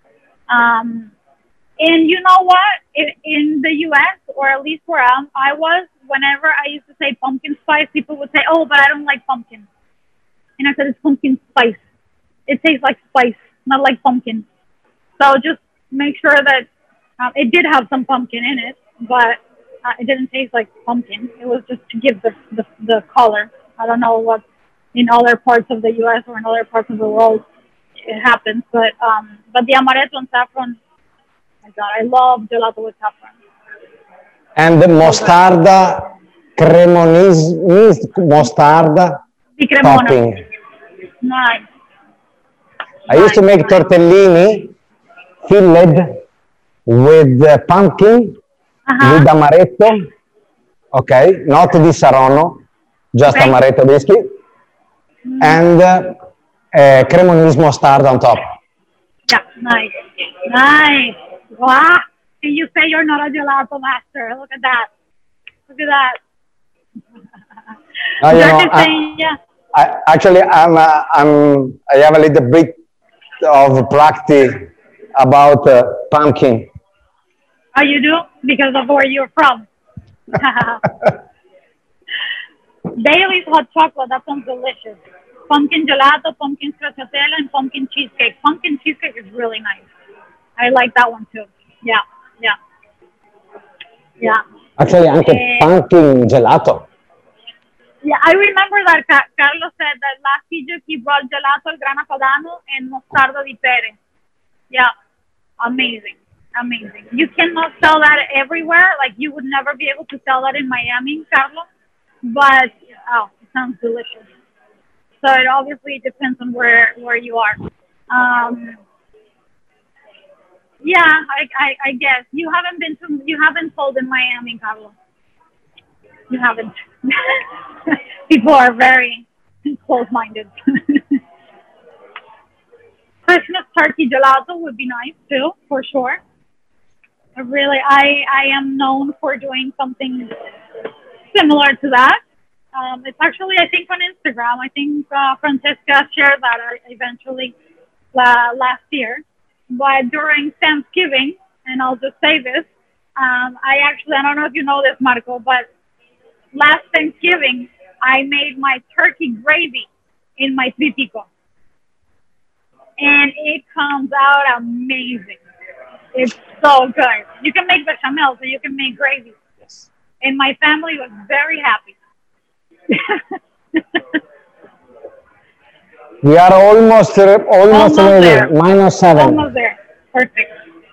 And you know what? In the U.S., or at least where I was, whenever I used to say pumpkin spice, people would say, "Oh, but I don't like pumpkin." And I said, "It's pumpkin spice. It tastes like spice, not like pumpkin." So just make sure that it did have some pumpkin in it, but it didn't taste like pumpkin. It was just to give the color. I don't know what in other parts of the U.S. or in other parts of the world it happens, but the amaretto and saffron. My God, I love gelato with saffron. And the mostarda, Cremonese mostarda Di cremona. topping. Nice. I used to make Nice. tortellini filled with pumpkin, with amaretto, okay, not di Saronno, just Okay. amaretto biscuit, and Cremonese mustard on top. Yeah, nice. Nice. Wow. And you say you're not a gelato master. Look at that. Look at that. No, you You're know, just saying, yeah. actually, I have a little bit of practice about pumpkin. Oh, you do? Because of where you're from. Bailey's hot chocolate, that sounds delicious. Pumpkin gelato, pumpkin stracciatella, and pumpkin cheesecake. Pumpkin cheesecake is really nice. I like that one too. Yeah, yeah, yeah. Actually, anche pumpkin gelato. Yeah, I remember that Carlos said that last Egypt he brought gelato al grana padano and mostarda di pere. Yeah, amazing, amazing. You cannot sell that everywhere. Like you would never be able to sell that in Miami, Carlos. But oh, it sounds delicious. So it obviously depends on where you are. Yeah, I guess you haven't sold in Miami, Carlos. You haven't. People are very close-minded. Christmas turkey gelato would be nice too, for sure. I am known for doing something similar to that. It's actually, I think, on Instagram. I think Francesca shared that eventually last year. But during Thanksgiving, and I'll just say this, I don't know if you know this, Marco, but last Thanksgiving, I made my turkey gravy in my tritico. And it comes out amazing. It's so good. You can make bechamel, so you can make gravy. Yes. And my family was very happy. We are almost ready. There. -7. Almost there. Perfect.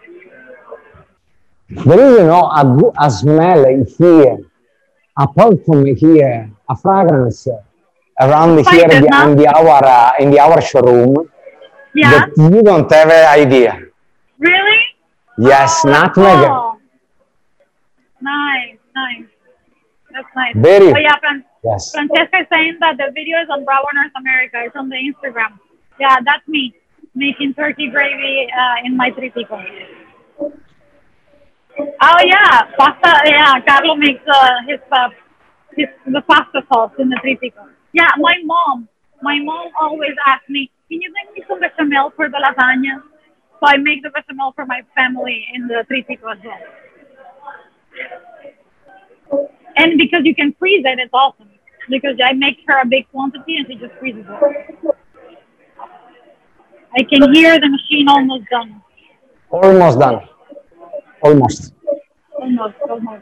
There is, a smell here, apart from here, a fragrance around here in our showroom. Yeah. That you don't have an idea. Really? Yes, Oh, that's nutmeg. cool. Nice. That's nice. Very. Oh yeah, Yes. Francesca is saying that the video is on Bravo North America. It's on the Instagram. Yeah, that's me making turkey gravy in my tritico. Oh yeah, pasta. Yeah, Carlo makes the pasta sauce in the tritico. Yeah, my mom always asks me, "Can you make me some bechamel for the lasagna?" So I make the bechamel for my family in the tritico as well. And because you can freeze it, it's awesome. Because I make her a big quantity and she just freezes it. I can hear the machine almost done. Almost done. Almost. Almost.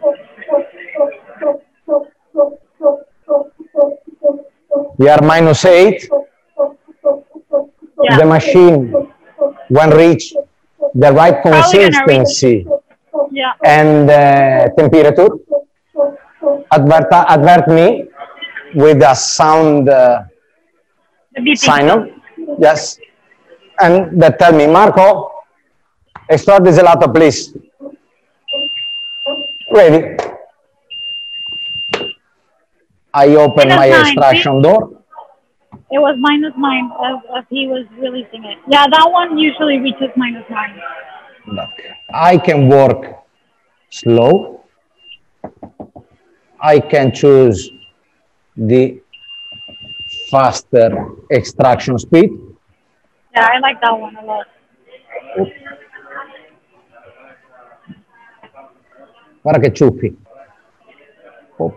We are -8. Yeah. The machine, when reach the right consistency Yeah. and temperature, advert me with a sound The beeping. sign up. Yes. And that tell me, Marco, start the gelato, please. Ready. I open my -9, extraction see? door. It was -9 as he was releasing it. Yeah, that one usually reaches -9. Look, I can work slow. I can choose the faster extraction speed. Yeah, I like that one a lot. Guarda che ciuffi. Oh.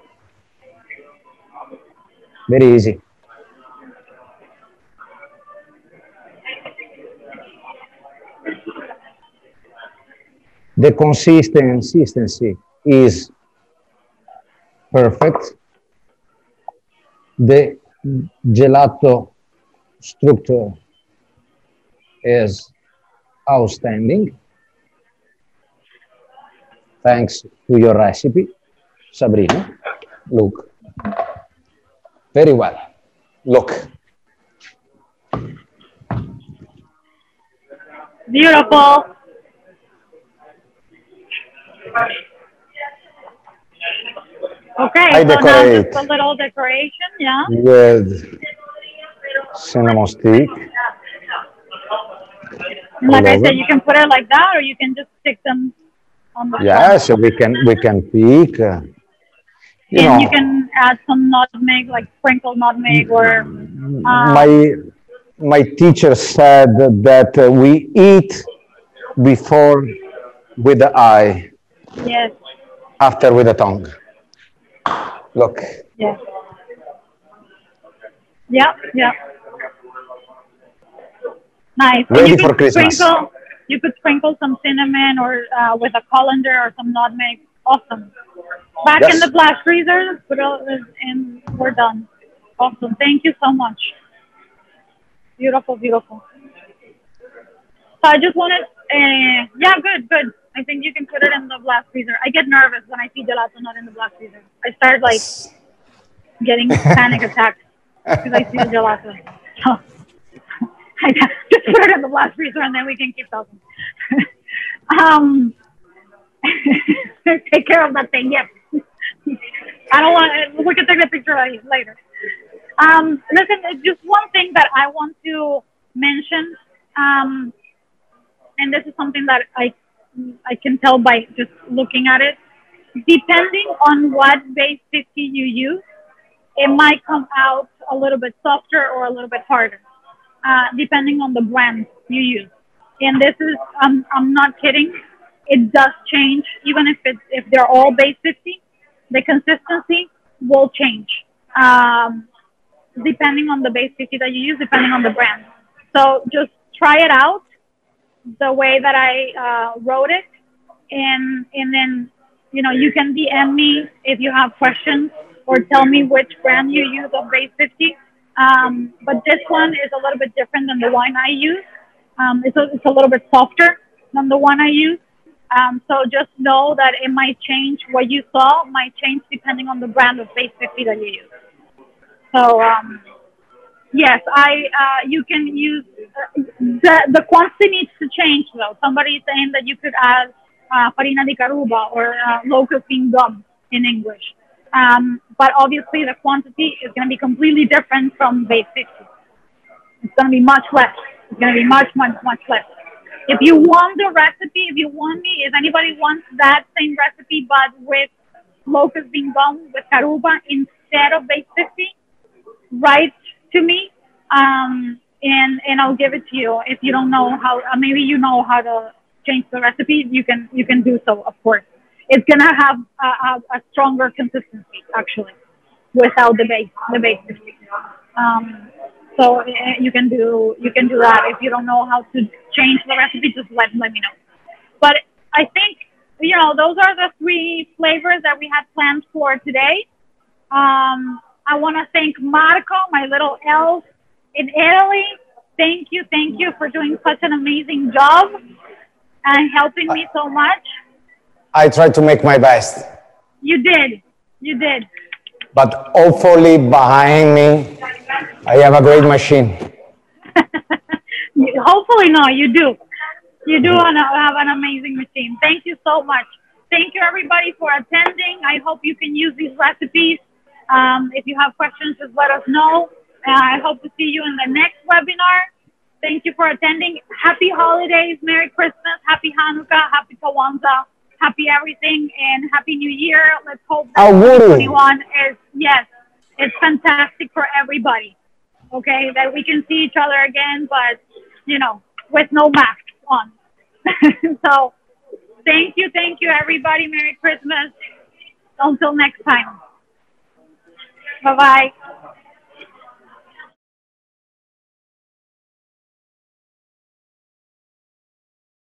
Very easy. The consistency is perfect. The gelato structure is outstanding. Thanks to your recipe, Sabrina. Look. Very well. Look. Beautiful. Okay, I so now decorate. just a little decoration, yeah? With cinnamon stick. And like I all said, over. you can put it like that, or you can just stick them on the Yes, front. we can pick. And you can add some nutmeg, like sprinkled nutmeg, or my teacher said that we eat before with the eye, yes, after with the tongue. Look. yes, yeah. Nice. And Ready you can for Christmas. You could sprinkle some cinnamon or with a colander or some nutmeg. Awesome. Back in Yes. the blast freezer, and we're done. Awesome. Thank you so much. Beautiful, beautiful. So I just wanted, yeah, good, good. I think you can put it in the blast freezer. I get nervous when I see gelato not in the blast freezer. I start like getting panic attacks because I see the gelato. So I just put it in the blast freezer and then we can keep talking. um, take care of that thing. Yes. I don't want. We can take the picture later. Listen, just one thing that I want to mention, and this is something that I can tell by just looking at it. Depending on what base 50 you use, it might come out a little bit softer or a little bit harder, depending on the brand you use. And this is, I'm not kidding. It does change, even if they're all base 50, the consistency will change, depending on the base 50 that you use, depending on the brand. So just try it out the way that I wrote it, and then you can DM me if you have questions or tell me which brand you use of base 50. But this one is a little bit different than the one I use. It's a little bit softer than the one I use. So just know that it might change. What you saw might change depending on the brand of base 50 that you use. So yes, you can use the quantity needs to change though. Somebody is saying that you could add farina di caruba or locust bean gum in English. But obviously the quantity is going to be completely different from base 50. It's going to be much less. It's going to be much, much, much less. If you want the recipe, if anybody wants that same recipe but with locust bean gum with caruba instead of base 50, write to me, and I'll give it to you. If you don't know how, maybe you know how to change the recipe, you can do so. Of course, it's gonna have a stronger consistency actually without the base 50. So you can do that. If you don't know how to change the recipe, just let me know. But I think those are the three flavors that we had planned for today. I want to thank Marco, my little elf in Italy. Thank you for doing such an amazing job and helping me so much. I tried to make my best. You did. But hopefully behind me, I have a great machine. Hopefully, no, you do. You do have an amazing machine. Thank you so much. Thank you, everybody, for attending. I hope you can use these recipes. If you have questions, just let us know. I hope to see you in the next webinar. Thank you for attending. Happy holidays, Merry Christmas, Happy Hanukkah, Happy Kwanzaa, Happy everything, and Happy New Year. Let's hope that 2021 is, yes, it's fantastic for everybody. Okay, that we can see each other again, but, with no masks on. So, thank you, everybody. Merry Christmas. Until next time. Bye-bye.